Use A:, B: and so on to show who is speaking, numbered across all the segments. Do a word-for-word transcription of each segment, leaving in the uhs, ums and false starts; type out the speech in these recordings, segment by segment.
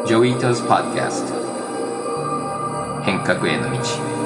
A: ジョイトズ・ポッドキャスト変革への道。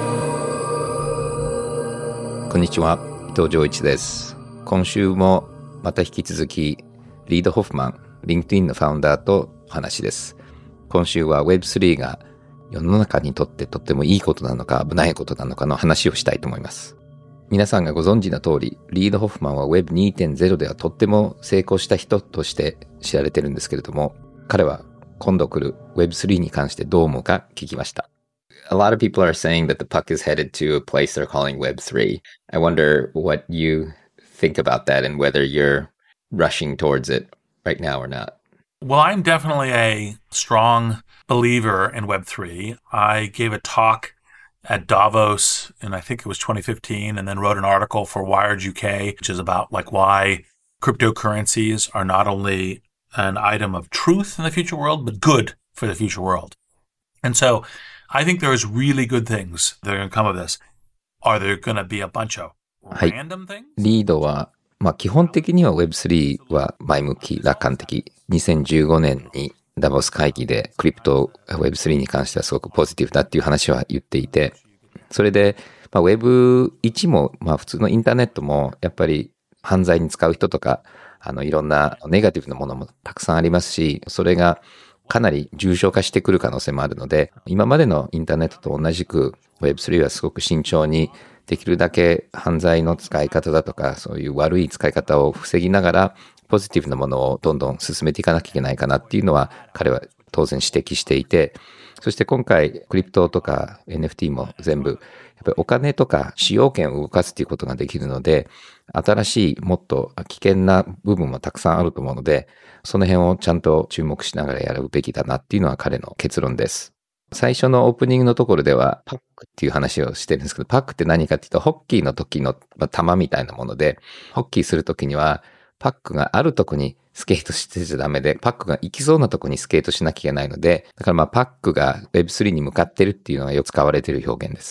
B: こんにちは、伊藤浄一です。今週もまた引き続きリード・ホフマン、LinkedIn のファウンダーとお話です。今週は ウェブスリー が世の中にとってとってもいいことなのか危ないことなのかの話をしたいと思います。皆さんがご存知の通り、リード・ホフマンは ウェブにてんゼロ ではとっても成功した人として知られてるんですけれども、彼は今度来る ウェブスリー に関してどう思うか聞きました。
A: A lot of people are saying that the puck is headed to a place they're calling Web three. I wonder what you think about that and whether you're rushing towards it right now or not.
C: Well, I'm definitely a strong believer in Web three. I gave a talk at Davos in, I think it was twenty fifteen, and then wrote an article for Wired U K, which is about like why cryptocurrencies are not only an item of truth in the future world, but good for the future world. And so I think there's really good things that are going to come of this. Are there going to be a bunch of random things?
B: はい、リードは、まあ、基本的には ウェブスリー は前向き、楽観的。にせんじゅうごねんにダボス会議でクリプト ウェブスリー に関してはすごくポジティブだっていう話は言っていて、それで、まあ、ウェブワン も、まあ、普通のインターネットもやっぱり犯罪に使う人とか、あのいろんなネガティブなものもたくさんありますし、それがかなり重症化してくる可能性もあるので、今までのインターネットと同じく ウェブスリー はすごく慎重にできるだけ犯罪の使い方だとか、そういう悪い使い方を防ぎながら、ポジティブなものをどんどん進めていかなきゃいけないかなっていうのは彼は当然指摘していて、そして今回クリプトとか エヌエフティー も全部やっぱりお金とか使用権を動かすっていうことができるので、新しいもっと危険な部分もたくさんあると思うので、その辺をちゃんと注目しながらやるべきだなっていうのは彼の結論です。最初のオープニングのところではパックっていう話をしてるんですけど、パックって何かっていうとホッキーの時の玉みたいなもので、ホッキーするときにはパックがあるとこにスケートしてちゃダメで、パックが行きそうなとこにスケートしなきゃいけないので、だからまあパックが ウェブスリー に向かってるっていうのがよく使われている表現です。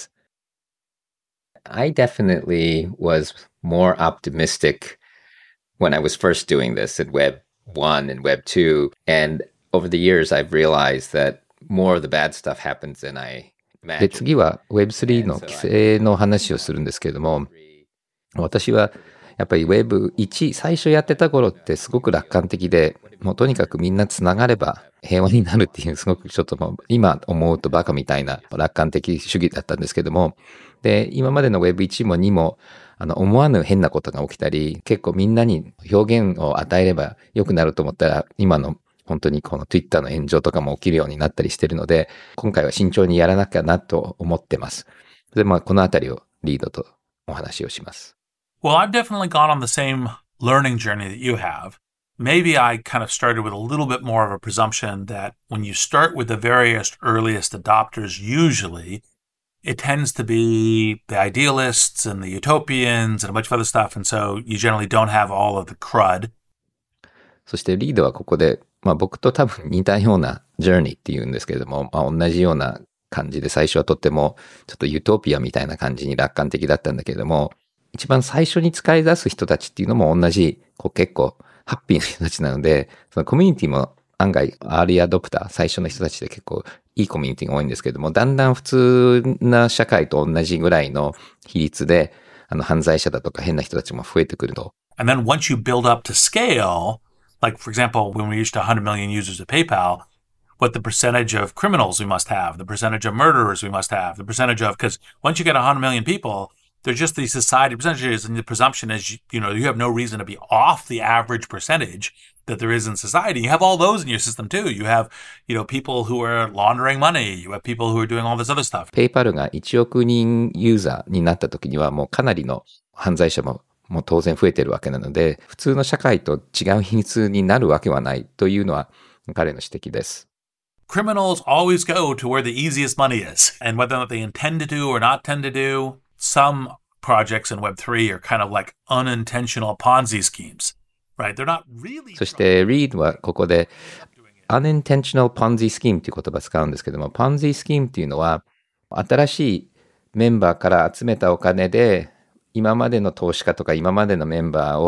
A: I definitely was more optimistic when I was first doing this at Web one and Web two. And over the years, I've realized that more of the bad stuff happens than I imagined.
B: で、次は ウェブスリー の規制の話をするんですけれども、私はやっぱり ウェブワン 最初やってた頃ってすごく楽観的で、もうとにかくみんなつながれば平和になるっていうすごくちょっともう今思うとバカみたいな楽観的主義だったんですけども、で、今までの ウェブワン もにもあの思わぬ変なことが起きたり、結構みんなに表現を与えれば良くなると思ったら、今の本当にこの Twitter の炎上とかも起きるようになったりしてるので、今回は慎重にやらなきゃなと思ってます。で、まあこのあたりをリードとお話をします。
C: Well, I've definitely gone on the same learning journey that you have. Maybe I kind of started with a little bit more of a presumption that when you start with the various earliest adopters, usually it tends to be the idealists and the utopians and a bunch of other stuff. And so you generally don't have all of the crud.
B: そしてリードはここで、まあ僕と多分似たようなジャーニーっていうんですけれども、まあ同じような感じで最初はとってもちょっとユートピアみたいな感じに楽観的だったんだけれども、一番最初に使い出す人たちっていうのも同じ、こう結構ハッピーな人たちなので、そのコミュニティも案外アーリーアドプター、最初の人たちで結構いいコミュニティが多いんですけれども、だんだん普通な社会と同じぐらいの比率で、あの犯罪者だとか変な人たちも増えてくると。
C: And then once you build up to scale, like for example, when we reached one hundred million users of PayPal, what the percentage of criminals we must have, the percentage of murderers we must have, the percentage of, because once you get one hundred million people, they're just these society percentages, and the presumption is, you, you know, you have no reason to be off the average percentage that there is in society. You have all those in your system too. You have, you know, people who are laundering money. You have people who are doing all this other stuff.
B: PayPal がいちおく人ユーザーになった時にはもうかなりの犯罪者ももう当然増えてるわけなので、普通の社会と違う比率になるわけはないというのは彼の指摘です。
C: Criminals always go to where the easiest money is. And whether or not they intend to do or not tend to do, some projects in Web three are kind of like unintentional Ponzi schemes, right? They're not really...
B: そして Reed はここで unintentional Ponzi scheme という言葉を使うんですけども、Ponzi scheme っていうのは新しいメンバーから集めたお金で今までの投資家とか今までのメンバーを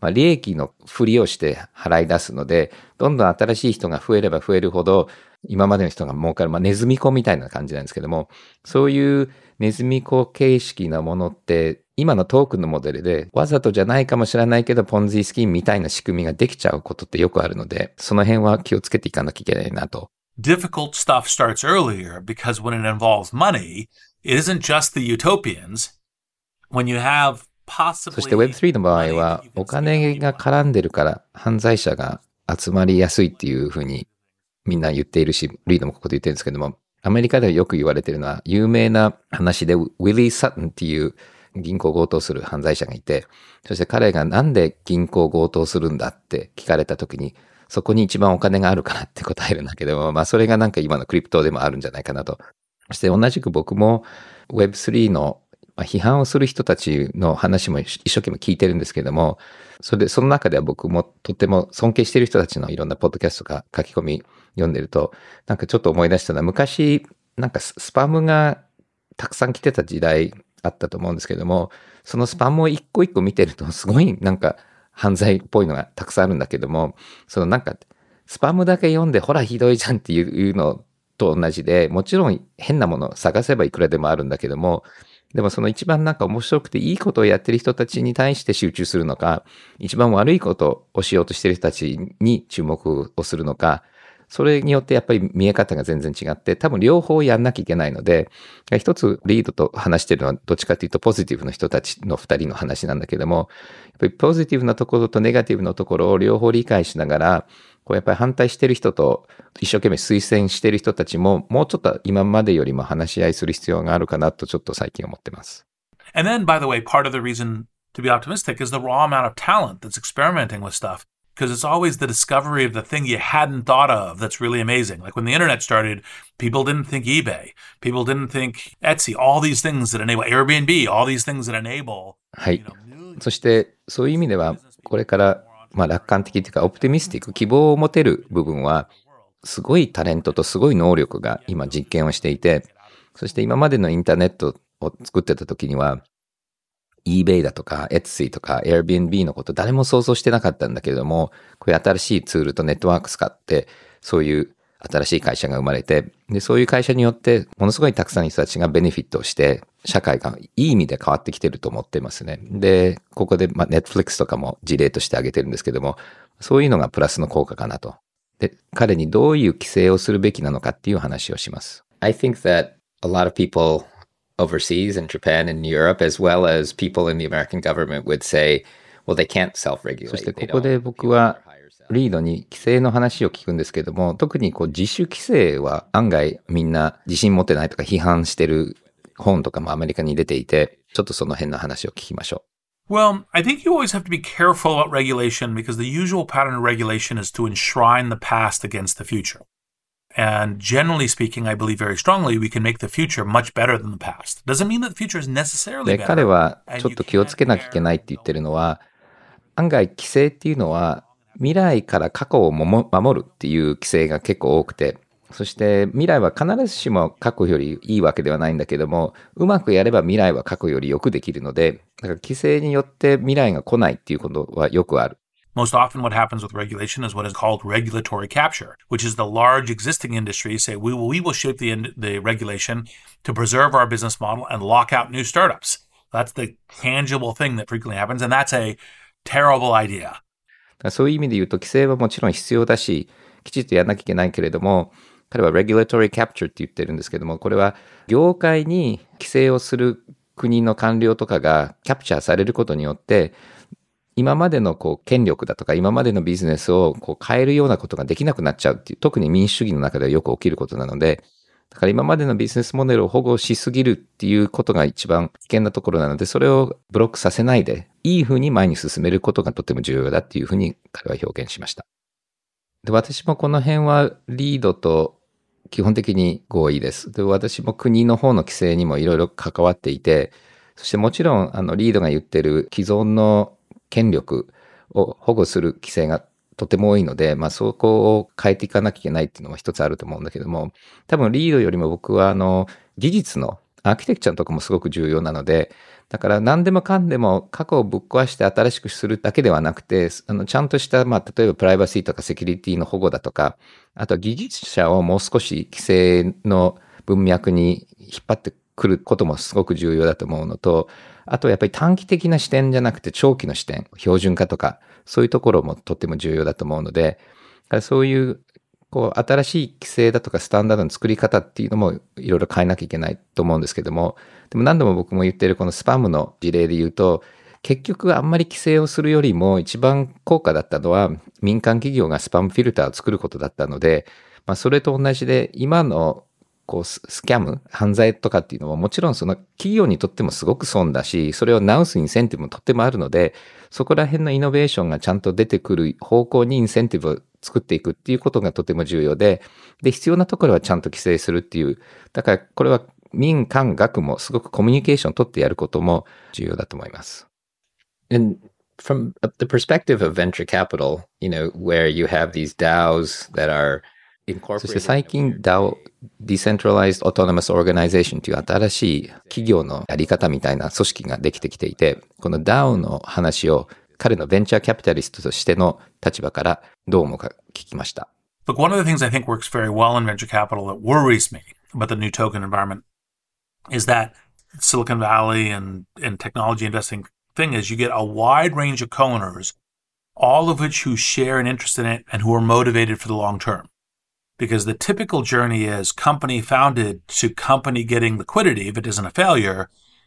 B: まあ、利益のふりをして払い出すので、どんどん新しい人が増えれば増えるほど、今までの人が儲かる、まあ、ネズミ子みたいな感じなんですけども、そういうネズミ子形式なものって、今のトークンのモデルで、わざとじゃないかもしれないけど、ポンジースキームみたいな仕組みができちゃうことってよくあるので、その辺は気をつけていかなきゃいけないなと。
C: Difficult stuff starts earlier because when it involves money, it isn't just the utopians. When you have possibly...
B: そして ウェブスリー の場合は、お金が絡んでるから犯罪者が集まりやすいっていうふうにみんな言っているし、リードもここで言ってるんですけども、アメリカではよく言われているのは、有名な話で、ウィリー・サトンっていう銀行強盗する犯罪者がいて、そして彼がなんで銀行強盗するんだって聞かれたときに、そこに一番お金があるからって答えるんだけど、まあそれがなんか今のクリプトでもあるんじゃないかなと。そして同じく僕も ウェブスリー の批判をする人たちの話も一生懸命聞いてるんですけども、それでその中では僕もとても尊敬している人たちのいろんなポッドキャストとか書き込み読んでると、なんかちょっと思い出したのは、昔なんかスパムがたくさん来てた時代あったと思うんですけども、そのスパムを一個一個見てるとすごいなんか犯罪っぽいのがたくさんあるんだけども、そのなんかスパムだけ読んでほらひどいじゃんっていうのと同じで、もちろん変なものを探せばいくらでもあるんだけども、でもその一番なんか面白くていいことをやってる人たちに対して集中するのか、一番悪いことをしようとしてる人たちに注目をするのか、それによってやっぱり見え方が全然違って、多分両方やんなきゃいけないので、一つリードと話してるのはどっちかというとポジティブの人たちの二人の話なんだけども、やっぱりポジティブなところとネガティブなところを両方理解しながら、こうやっぱり反対してる人と一生懸命推薦してる人たちももうちょっと今までよりも話し合いする必要があるかなとちょっと最近思ってます。
C: And then, by the way, part of the reason to be optimistic is the raw amount of talent that's experimenting with stuff. Because it's always the discovery of the thing you hadn't thought of that's really amazing. Like when the internet started, people didn't think eBay. People didn't think Etsy. All these things that enable Airbnb. All these things that enable.
B: はい。そしてそういう意味ではこれからまあ楽観的というかオプティミスティック、希望を持てる部分はすごいタレントとすごい能力が今実験をしていて、そして今までのインターネットを作ってた時にはeBay だとか Etsy とか Airbnb のこと誰も想像してなかったんだけれども、こういう新しいツールとネットワーク使ってそういう新しい会社が生まれて、でそういう会社によってものすごいたくさんの人たちがベネフィットをして社会がいい意味で変わってきてると思ってますね。でここでまあ Netflix とかも事例として挙げてるんですけども、そういうのがプラスの効果かなと。で彼にどういう規制をするべきなのかっていう話をします。
A: I think that a lot of people overseas in Japan and Europe, as well as people in the American government would say, well, they can't self-regulate.
B: そしてここで僕はリードに規制の話を聞くんですけども、特にこう自主規制は案外みんな自信持ってないとか批判してる本とかもアメリカに出ていて、ちょっとその辺の話を聞きましょ
C: う。Well, I think you always have to be careful about regulation because the usual pattern of regulation is to enshrine the past against the future.And generally speaking, I believe very strongly we can make the future much better than the past. Doesn't mean that the future is necessarily better.
B: で、彼はちょっと気をつけなきゃいけないって言ってるのは、案外規制っていうのは未来から過去を守るっていう規制が結構多くて、そして未来は必ずしも過去よりいいわけではないんだけども、うまくやれば未来は過去よりよくできるので、だから規制によって未来が来ないっていうことはよくある。
C: Most often what happens with regulation is what is called regulatory capture, which is the large existing industries say we will, we will shape the, the regulation to preserve our business model and lock out new startups. That's the tangible thing that frequently happens, and that's a terrible idea.
B: そういう意味で言うと規制はもちろん必要だし、きちっとやらなきゃいけないけれども、彼は regulatory capture って言ってるんですけども、これは業界に規制をする国の官僚とかがキャプチャーされることによって、今までのこう権力だとか今までのビジネスをこう変えるようなことができなくなっちゃうっていう、特に民主主義の中ではよく起きることなので、だから今までのビジネスモデルを保護しすぎるっていうことが一番危険なところなので、それをブロックさせないでいい風に前に進めることがとても重要だっていうふうに彼は表現しました。で、私もこの辺はリードと基本的に合意です。で、私も国の方の規制にもいろいろ関わっていて、そしてもちろんあのリードが言ってる既存の権力を保護する規制がとても多いので、まあそこを変えていかなきゃいけないっていうのも一つあると思うんだけども、多分リードよりも僕はあの技術のアーキテクチャのとこもすごく重要なので、 だから何でもかんでも過去をぶっ壊して新しくするだけではなくて、あのちゃんとした、まあ、例えばプライバシーとかセキュリティの保護だとか、あとは技術者をもう少し規制の文脈に引っ張ってくることもすごく重要だと思うのと、あとやっぱり短期的な視点じゃなくて長期の視点、標準化とか、そういうところもとっても重要だと思うので、そういうこう新しい規制だとかスタンダードの作り方っていうのもいろいろ変えなきゃいけないと思うんですけども、でも何度も僕も言ってるこのスパムの事例で言うと、結局あんまり規制をするよりも一番効果だったのは民間企業がスパムフィルターを作ることだったので、まあ、それと同じで今のこうスキャム、犯罪とかっていうのももちろんその企業にとってもすごく損だし、それを直すインセンティブもとってもあるので、そこら辺のイノベーションがちゃんと出てくる方向にインセンティブを作っていくっていうことがとても重要で、で、必要なところはちゃんと規制するっていう、だからこれは民間学もすごくコミュニケーションを取ってやることも重要だと思います。
A: And from the perspective of venture capital, you know, where you have these DAOs that are incorporated.
B: そして最近 ダオ、Decentralized Autonomous Organization という新しい企業のやり方みたいな組織ができてきていて、この ダオ の話を彼のベンチャーキャピタリストとしての立場からどう思うか聞きました。
C: Look, one of the things I think works very well in venture capital that worries me about the new token environment is that Silicon Valley and, and technology investing thing is you get a wide range of co-owners, all of which who share an interest in it and who are motivated for the long term. Because the typical journey is company founded to company getting liquidity, if it isn't a failure,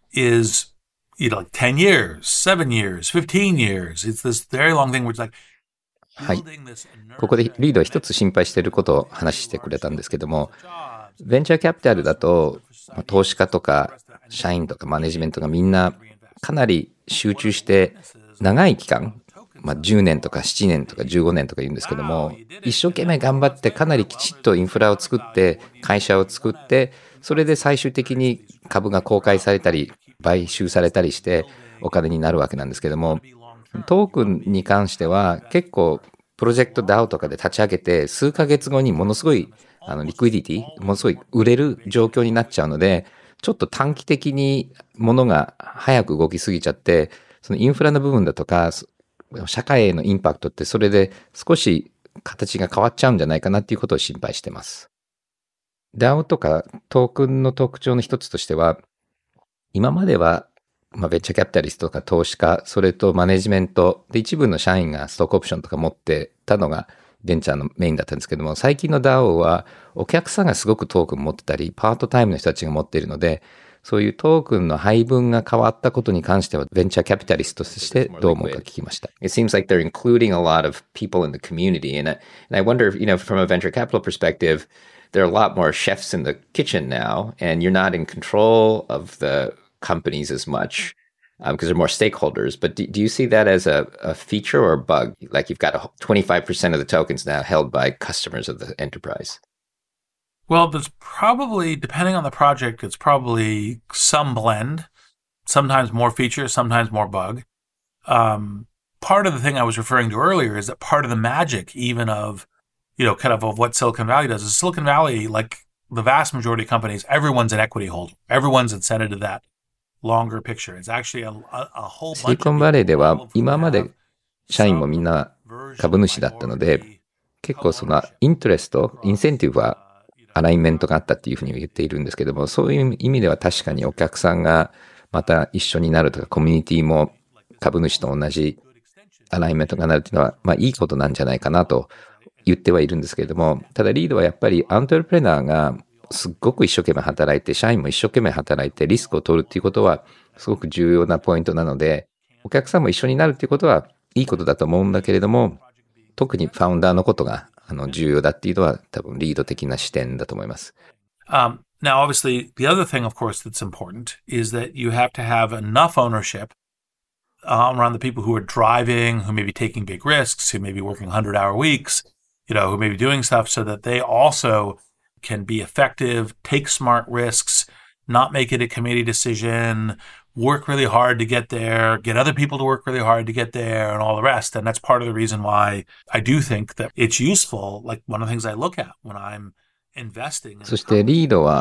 C: is you know, like ten years, seven years, fifteen years. It's this very long thing where it's like,
B: はい。ここでリードは一つ心配していることを話してくれたんですけども、ベンチャーキャピタルだと、投資家とか社員とかマネジメントがみんなかなり集中して長い期間、まあ、じゅうねんとかななねんとかじゅうごねんとか言うんですけども、一生懸命頑張ってかなりきちっとインフラを作って会社を作って、それで最終的に株が公開されたり買収されたりしてお金になるわけなんですけども、トークンに関しては結構プロジェクト ダオ とかで立ち上げて数ヶ月後にものすごいあのリクイディティ、ものすごい売れる状況になっちゃうので、ちょっと短期的に物が早く動きすぎちゃって、そのインフラの部分だとか社会へのインパクトってそれで少し形が変わっちゃうんじゃないかなっていうことを心配してます。ダオ とかトークンの特徴の一つとしては、今まではまあ、ベンチャーキャピタリストとか投資家、それとマネジメントで一部の社員がストックオプションとか持ってたのがベンチャーのメインだったんですけども、最近の ダオ はお客さんがすごくトークン持ってたり、パートタイムの人たちが持っているので、そういうトークンの配分が変わったことに関してはベンチャーキャピタリストとしてどう思うか聞きました。
A: It seems like they're including a lot of people in the community, and I, and I wonder if, you know, from a venture capital perspective, there are a lot more chefs in the kitchen now, and you're not in control of the companies as much um, because there are more stakeholders. But do, do you see that as a, a feature or a bug? Like you've got a twenty-five percent of the tokens now held by customers of the enterprise.
C: Well, there's probably, depending on the project, it's probably some blend, sometimes more feature, sometimes more bug. Um, part of the thing I was referring to earlier is that part of the magic even of, you know, kind of of what Silicon Valley does is Silicon Valley, like the vast majority of companies, everyone's an equity holder. Everyone's incented to that.Longer picture. It's actually a, a, a whole bunch of
B: シリコンバレーでは今まで社員もみんな株主だったので、結構そのイントレスト、インセンティブはアライメントがあったっていうふうに言っているんですけども、そういう意味では確かにお客さんがまた一緒になるとか、コミュニティも株主と同じアライメントがなるっていうのは、まあいいことなんじゃないかなと言ってはいるんですけれども、ただリードはやっぱりアントレプレナーがすっごく一生懸命働いて、社員も一生懸命働いてリスクを取るっていうことはすごく重要なポイントなので、お客さんも一緒になるっていうことはいいことだと思うんだけれども、特にファウンダーのことがあの重要だっていうのは多分リード的な視点だと思います。
C: Um, now, obviously, the other thing, of course, that's important is that you have to have enough ownership um, around the people who are driving, who may be taking big risks, who may be working one hundred hour weeks, you know, who may be doing stuff so that they also can be effective, take smart risks, not make it a committee decision, work really hard to get there, get other people to work really hard to get there, and all the rest. And that's part of the reason why I do think that it's useful. Like one of the things I look at when I'm investing.
B: そしてリードは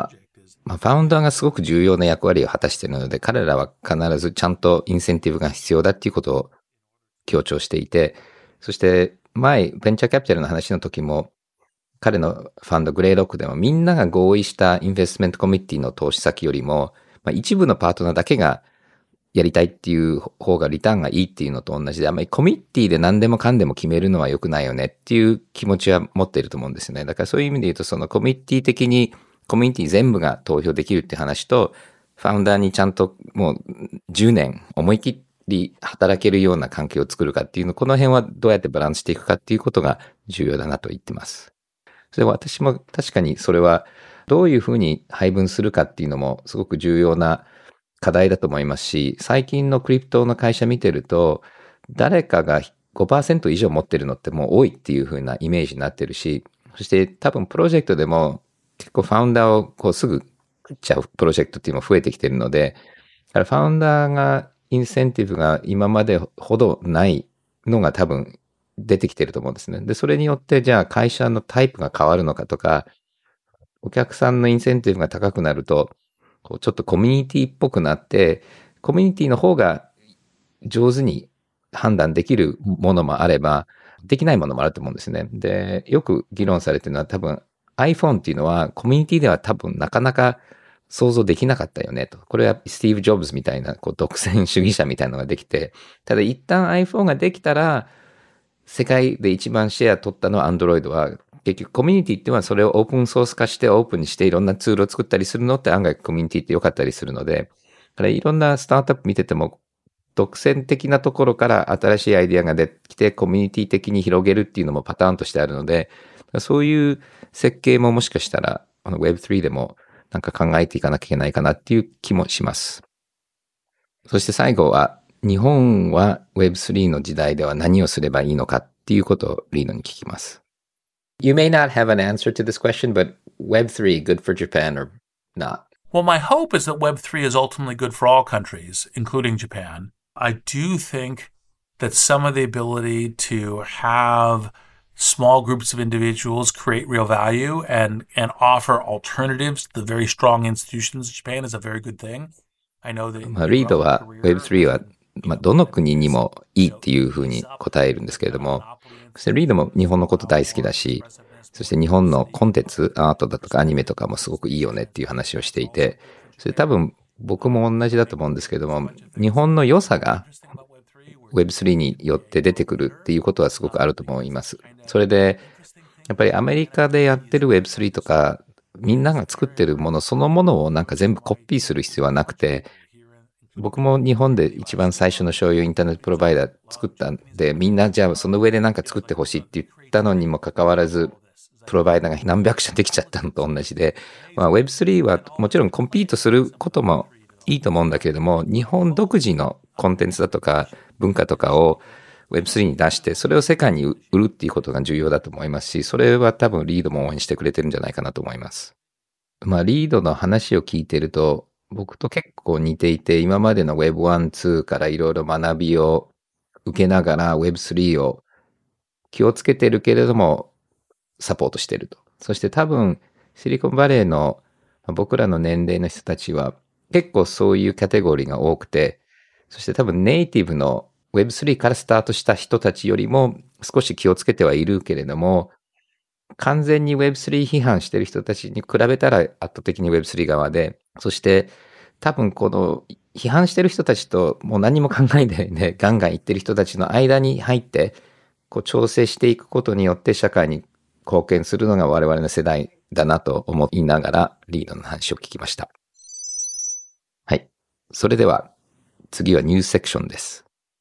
B: まあ、ファウンダーがすごく重要な役割を果たしているので、彼らは必ずちゃんとインセンティブが必要だっていうことを強調していて、そして前、ベンチャーキャピタルの話の時も、彼のファンドグレイロックでもみんなが合意したインベストメントコミッティの投資先よりも、まあ、一部のパートナーだけがやりたいっていう方がリターンがいいっていうのと同じで、あんまりコミッティで何でもかんでも決めるのは良くないよねっていう気持ちは持っていると思うんですよね。だからそういう意味で言うと、そのコミッティ的にコミュニティ全部が投票できるって話と、ファウンダーにちゃんともうじゅうねん思い切り働けるような関係を作るかっていうの、この辺はどうやってバランスしていくかっていうことが重要だなと言ってます。それは私も確かにそれはどういうふうに配分するかっていうのもすごく重要な課題だと思いますし、最近のクリプトの会社見てると、誰かが ごパーセント 以上持ってるのってもう多いっていうふうなイメージになってるし、そして多分プロジェクトでも結構ファウンダーをこうすぐ食っちゃうプロジェクトっていうのも増えてきてるので、ファウンダーがインセンティブが今までほどないのが多分出てきてると思うんですね。で、それによってじゃあ会社のタイプが変わるのかとか、お客さんのインセンティブが高くなると、こうちょっとコミュニティっぽくなって、コミュニティの方が上手に判断できるものもあれば、できないものもあると思うんですね。で、よく議論されてるのは多分 iPhone っていうのはコミュニティでは多分なかなか想像できなかったよねと。これはスティーブ・ジョブズみたいなこう独占主義者みたいなのができて、ただ一旦 iPhone ができたら、世界で一番シェア取ったのは Android は、結局コミュニティっていうのはそれをオープンソース化してオープンにしていろんなツールを作ったりするのって案外コミュニティって良かったりするので、だからいろんなスタートアップ見てても独占的なところから新しいアイディアが出てきてコミュニティ的に広げるっていうのもパターンとしてあるので、そういう設計ももしかしたらあの ウェブスリー でもなんか考えていかなきゃいけないかなっていう気もします。そして最後は日本は ウェブスリー の時代では何をすればいいのかっていうことをリードに聞きます。
A: You may not have an answer to this question, but Web three good for Japan or not?
C: Well, my hope is that Web three is ultimately good for all countries, including Japan. I do think that some of the ability to have small groups of individuals create real value and, and offer alternatives to the very strong institutions of Japan is a very good thing. I know that...
B: まあ、リードは ウェブスリー は、まあ、どの国にもいいっていうふうに答えるんですけれども、そしてリードも日本のこと大好きだし、そして日本のコンテンツ、アートだとかアニメとかもすごくいいよねっていう話をしていて、それ多分僕も同じだと思うんですけども、日本の良さが ウェブスリー によって出てくるっていうことはすごくあると思います。それで、やっぱりアメリカでやってる ウェブスリー とか、みんなが作ってるものそのものをなんか全部コピーする必要はなくて、僕も日本で一番最初の商用インターネットプロバイダー作ったんで、みんなじゃあその上でなんか作ってほしいって言ったのにもかかわらず、プロバイダーが何百社できちゃったのと同じで、まあ、ウェブスリー はもちろんコンピートすることもいいと思うんだけれども、日本独自のコンテンツだとか文化とかを ウェブスリー に出して、それを世界に売るっていうことが重要だと思いますし、それは多分リードも応援してくれてるんじゃないかなと思います。まあ、リードの話を聞いてると、僕と結構似ていて、今までの ウェブワン、ツー からいろいろ学びを受けながら ウェブスリー を気をつけてるけれどもサポートしてると。そして多分シリコンバレーの僕らの年齢の人たちは結構そういうカテゴリーが多くて、そして多分ネイティブの ウェブスリー からスタートした人たちよりも少し気をつけてはいるけれども、完全に ウェブスリー 批判してる人たちに比べたら圧倒的に ウェブスリー 側で、そして多分この批判してる人たちともう何も考えないでガンガン言ってる人たちの間に入ってこう調整していくことによって社会に貢献するのが我々の世代だなと思いながらリードの話を聞きました。はい。それでは次はニュースセクションです。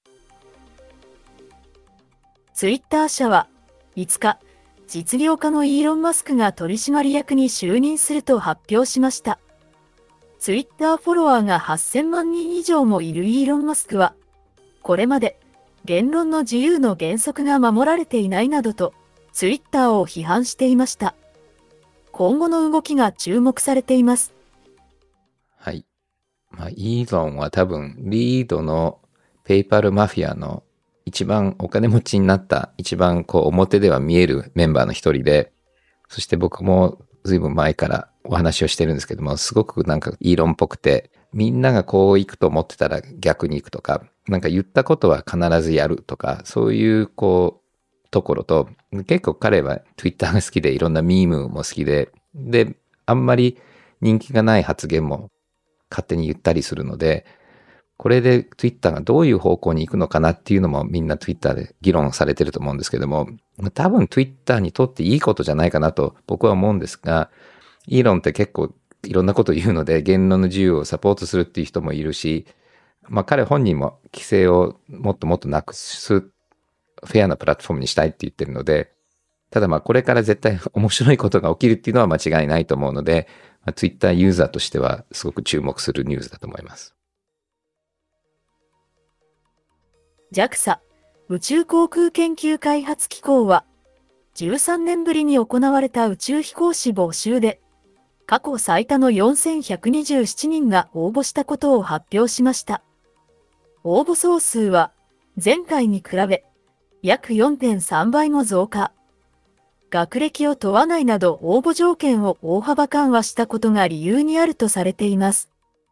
D: ツイッター社はいつか実業家のイーロン・マスクが取締役に就任すると発表しました。ツイッターフォロワーがはっせんまんにん以上もいるイーロン・マスクは、これまで言論の自由の原則が守られていないなどとツイッターを批判していました。今後の動きが注目されています。
B: はい。まあ、イーロンは多分リードのペイパルマフィアの一番お金持ちになった一番こう表では見えるメンバーの一人で、そして僕もずいぶん前からお話をしてるんですけども、すごくなんかイーロンっぽくて、みんながこう行くと思ってたら逆に行くとか、なんか言ったことは必ずやるとか、そういうこう、ところと、結構彼は Twitter が好きでいろんなミームも好きで、で、あんまり人気がない発言も勝手に言ったりするので、これで Twitter がどういう方向に行くのかなっていうのもみんな Twitter で議論されてると思うんですけども、多分 Twitter にとっていいことじゃないかなと僕は思うんですが、イーロンって結構いろんなこと言うので言論の自由をサポートするっていう人もいるし、まあ彼本人も規制をもっともっとなくすフェアなプラットフォームにしたいって言ってるので、ただまあこれから絶対面白いことが起きるっていうのは間違いないと思うので、まあ、Twitter ユーザーとしてはすごく注目するニュースだと思います。
D: ジャクサ 宇宙航空研究開発機構は、じゅうさんねんぶりに行われた宇宙飛行士募集で、過去最多のよんせんひゃくにじゅうななにんが応募したことを発表しました。応募総数は、前回に比べ、約 よんてんさんばいも増加。学歴を問わないなど応募条件を大幅緩和したことが理由にあるとされています。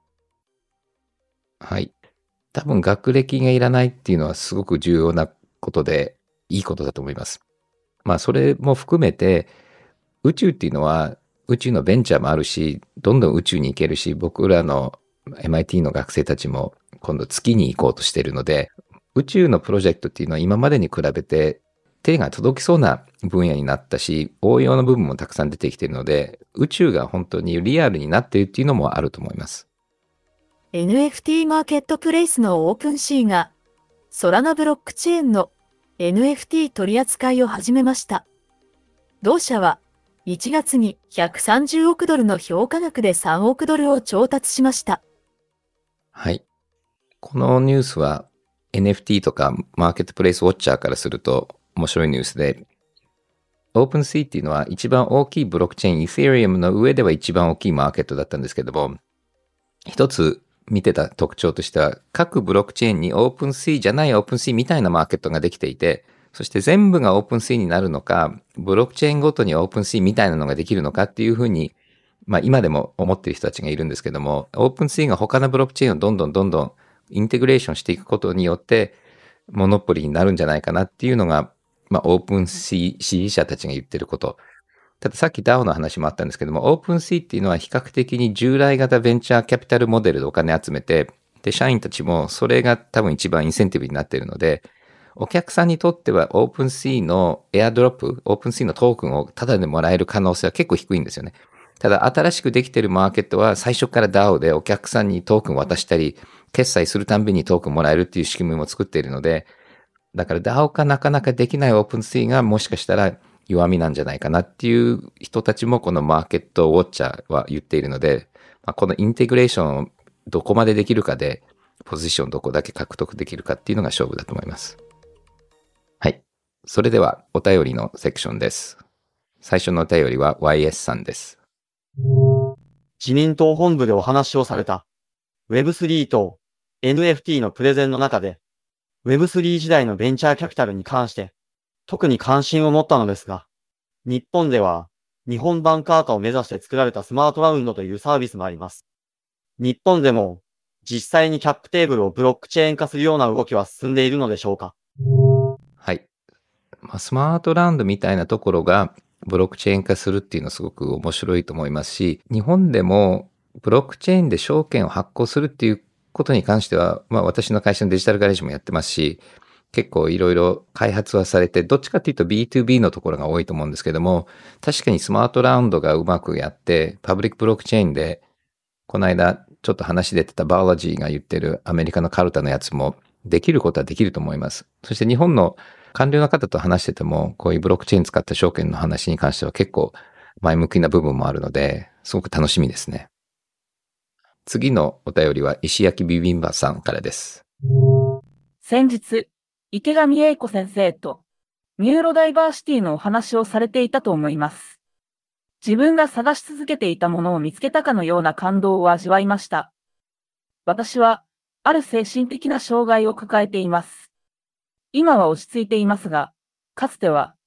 B: はい。多分学歴がいらないっていうのはすごく重要なことでいいことだと思います。まあそれも含めて宇宙っていうのは宇宙のベンチャーもあるし、どんどん宇宙に行けるし、僕らの エムアイティー の学生たちも今度月に行こうとしているので、宇宙のプロジェクトっていうのは今までに比べて手が届きそうな分野になったし、応用の部分もたくさん出てきているので、宇宙が本当にリアルになっているっていうのもあると思います。
D: エヌエフティー マーケットプレイスのオープンシーが、ソラナブロックチェーンの エヌエフティー 取り扱いを始めました。同社はいちがつにひゃくさんじゅうおくドルの評価額でさんおくドルを調達しました。
B: はい。このニュースは エヌエフティー とかマーケットプレイスウォッチャーからすると面白いニュースで、オープンシーっていうのは一番大きいブロックチェーン、イーセリアムの上では一番大きいマーケットだったんですけども、一つ見てた特徴としては、各ブロックチェーンにオープンシーじゃないオープンシーみたいなマーケットができていて、そして全部がオープンシーになるのか、ブロックチェーンごとにオープンシーみたいなのができるのかっていうふうに、まあ今でも思っている人たちがいるんですけども、オープンシーが他のブロックチェーンをどんどんどんどんインテグレーションしていくことによって、モノポリになるんじゃないかなっていうのが、まあオープンシー支持者たちが言ってること。たださっき ダオ の話もあったんですけども、オープンシーっていうのは比較的に従来型ベンチャーキャピタルモデルでお金集めて、で、社員たちもそれが多分一番インセンティブになっているので、お客さんにとってはオープンシーのエアドロップ、オープンシーのトークンをタダでもらえる可能性は結構低いんですよね。ただ新しくできているマーケットは最初から ダオ でお客さんにトークン渡したり、決済するたんびにトークンもらえるっていう仕組みも作っているので、だから ダオ がなかなかできないオープンシーがもしかしたら弱みなんじゃないかなっていう人たちもこのマーケットウォッチャーは言っているので、まあ、このインテグレーションをどこまでできるかで、ポジションどこだけ獲得できるかっていうのが勝負だと思います。はい。それではお便りのセクションです。最初のお便りは ワイエス さんです。
E: 自民党本部でお話をされた ウェブスリー と エヌエフティー のプレゼンの中で ウェブスリー 時代のベンチャーキャピタルに関して特に関心を持ったのですが、日本では日本バンカー化を目指して作られたスマートラウンドというサービスもあります。日本でも実際にキャップテーブルをブロックチェーン化するような動きは進んでいるのでしょうか？
B: はい。まあ、スマートラウンドみたいなところがブロックチェーン化するっていうのはすごく面白いと思いますし、日本でもブロックチェーンで証券を発行するっていうことに関しては、まあ私の会社のデジタルガレージもやってますし、結構いろいろ開発はされて、どっちかっていうと ビーツービー のところが多いと思うんですけども、確かにスマートラウンドがうまくやって、パブリックブロックチェーンで、この間ちょっと話出てたバーロジーが言ってるアメリカのカルタのやつもできることはできると思います。そして日本の官僚の方と話してても、こういうブロックチェーン使った証券の話に関しては結構前向きな部分もあるので、すごく楽しみですね。次のお便りは石焼きビビンバさんからです。
F: 先日、池上英子先生とニューロダイバーシティのお話をされていたと思います。自分が探し続けていたものを見つけたかのような感動を味わいました。私は、ある精神的な障害を抱えています。今は落ち着いていますが、かつては、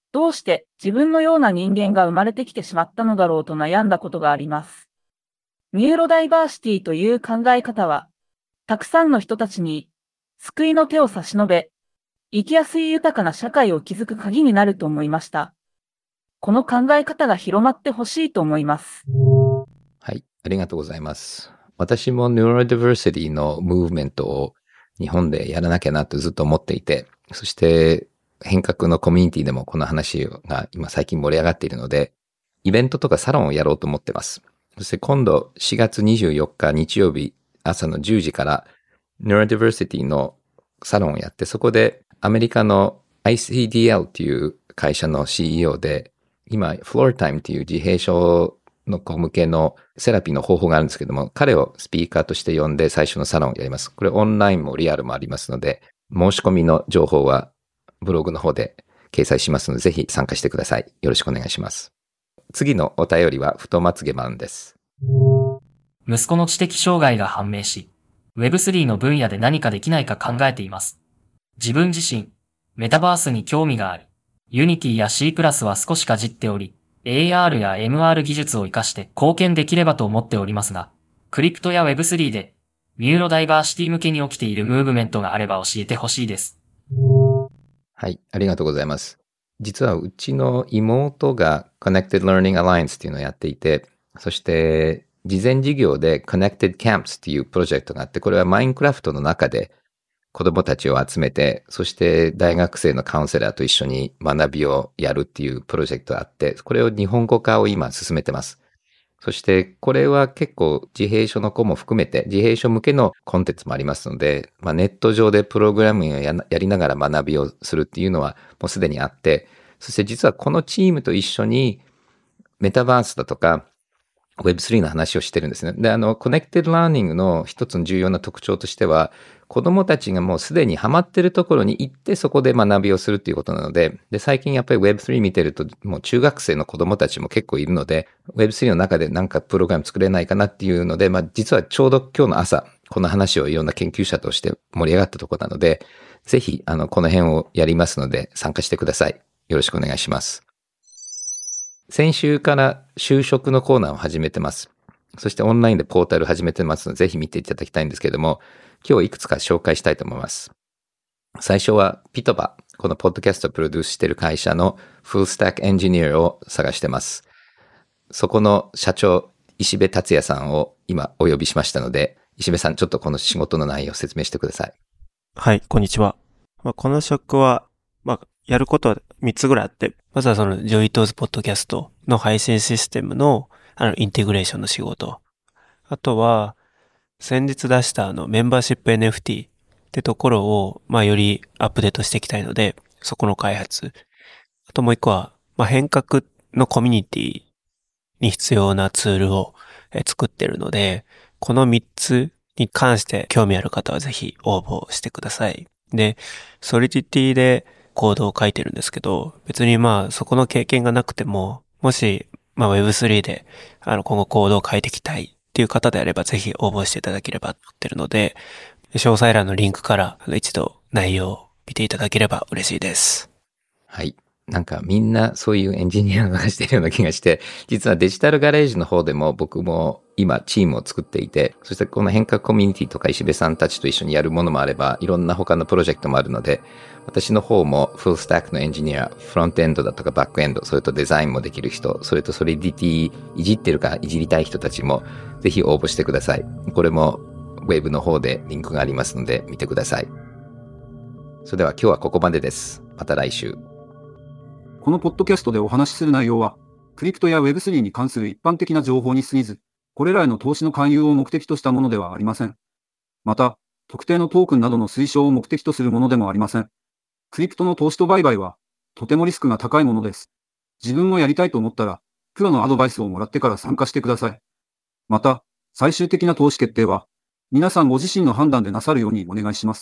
F: どうして自分のような人間が生まれてきてしまったのだろうと悩んだことがあります。ニューロダイバーシティという考え方は、たくさんの人たちに救いの手を差し伸べ、生きやすい豊かな社会を築く鍵になると思いました。この考え方が広まってほしいと思います。
B: はい、ありがとうございます。私もニューロダイバーシティのムーブメントを日本でやらなきゃなとずっと思っていて、そして変革のコミュニティでもこの話が今最近盛り上がっているので、イベントとかサロンをやろうと思ってます。そして今度しがつにじゅうよっか日曜日朝のじゅうじからニューロダイバーシティのサロンをやって、そこでアメリカの アイシーディーエル っていう会社の シーイーオー で、今フロータイムっていう自閉症の子向けのセラピーの方法があるんですけども、彼をスピーカーとして呼んで最初のサロンをやります。これオンラインもリアルもありますので、申し込みの情報はブログの方で掲載しますので、ぜひ参加してください。よろしくお願いします。次のお便りは太まつげマンです。
G: 息子の知的障害が判明し、ウェブスリー の分野で何かできないか考えています。自分自身、メタバースに興味があり、Unity や C++ は少しかじっており、エーアール や エムアール 技術を活かして貢献できればと思っておりますが、クリプトや ウェブスリー でニューロダイバーシティ向けに起きているムーブメントがあれば教えてほしいです。
B: はい、ありがとうございます。実はうちの妹が Connected Learning Alliance っていうのをやっていて、そして事前事業で Connected Camps っていうプロジェクトがあって、これはマインクラフトの中で子供たちを集めて、そして大学生のカウンセラーと一緒に学びをやるっていうプロジェクトがあって、これを日本語化を今進めてます。そしてこれは結構自閉症の子も含めて自閉症向けのコンテンツもありますので、まあ、ネット上でプログラミングを や, やりながら学びをするっていうのはもうすでにあって、そして実はこのチームと一緒にメタバースだとか ウェブスリー の話をしてるんですね。で、あの、コネクテッドラーニングの一つの重要な特徴としては、子供たちがもうすでにハマってるところに行ってそこで学びをするっていうことなので、で、最近やっぱり ウェブスリー 見てると、もう中学生の子供たちも結構いるので、ウェブスリー の中でなんかプログラム作れないかなっていうので、まあ実はちょうど今日の朝、この話をいろんな研究者として盛り上がったところなので、ぜひ、あの、この辺をやりますので参加してください。よろしくお願いします。先週から就職のコーナーを始めてます。そしてオンラインでポータル始めてますので、ぜひ見ていただきたいんですけれども、今日いくつか紹介したいと思います。最初はピトバ、このポッドキャストをプロデュースしている会社のフルスタックエンジニアを探してます。そこの社長、石部達也さんを今お呼びしましたので、石部さん、ちょっとこの仕事の内容を説明してください。
H: はい、こんにちは。まあ、この職は、まあ、やることはみっつぐらいあって、まずはそのジョイトーズポッドキャストの配信システムのあのインテグレーションの仕事。あとは、先日出したあのメンバーシップ エヌエフティー ってところを、まあよりアップデートしていきたいので、そこの開発。あともう一個は、まあ変革のコミュニティに必要なツールを作ってるので、このみっつに関して興味ある方はぜひ応募してください。で、ソリティティでコードを書いてるんですけど、別にまあそこの経験がなくても、もしまあ ウェブスリー であの今後コードを書いていきたいっていう方であればぜひ応募していただければと思ってるので、詳細欄のリンクから一度内容を見ていただければ嬉しいです。
B: はい。なんかみんなそういうエンジニアを探しているような気がして、実はデジタルガレージの方でも僕も今チームを作っていて、そしてこの変革コミュニティとか石部さんたちと一緒にやるものもあれば、いろんな他のプロジェクトもあるので、私の方もフルスタックのエンジニア、フロントエンドだとかバックエンド、それとデザインもできる人、それとソリディティいじってるかいじりたい人たちもぜひ応募してください。これもウェブの方でリンクがありますので見てください。それでは今日はここまでです。また来週。
I: このポッドキャストでお話しする内容は、クリプトや ウェブスリー に関する一般的な情報に過ぎず、これらへの投資の勧誘を目的としたものではありません。また、特定のトークンなどの推奨を目的とするものでもありません。クリプトの投資と売買は、とてもリスクが高いものです。自分もやりたいと思ったら、プロのアドバイスをもらってから参加してください。また、最終的な投資決定は、皆さんご自身の判断でなさるようにお願いします。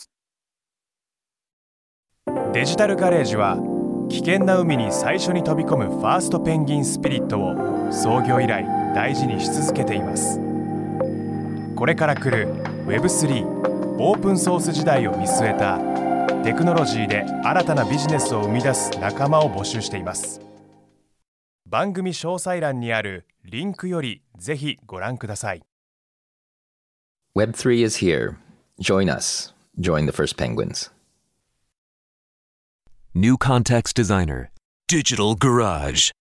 J: デジタルガレージは、危険な海に最初に飛び込むファーストペンギンスピリットを創業以来大事にし続けています。これから来る ウェブスリー オープンソース時代を見据えたテクノロジーで新たなビジネスを生み出す仲間を募集しています。番組詳細欄にあるリンクよりぜひご覧ください。
B: ウェブスリー is here. Join us. Join the first penguins.
K: New Context Designer, Digital Garage.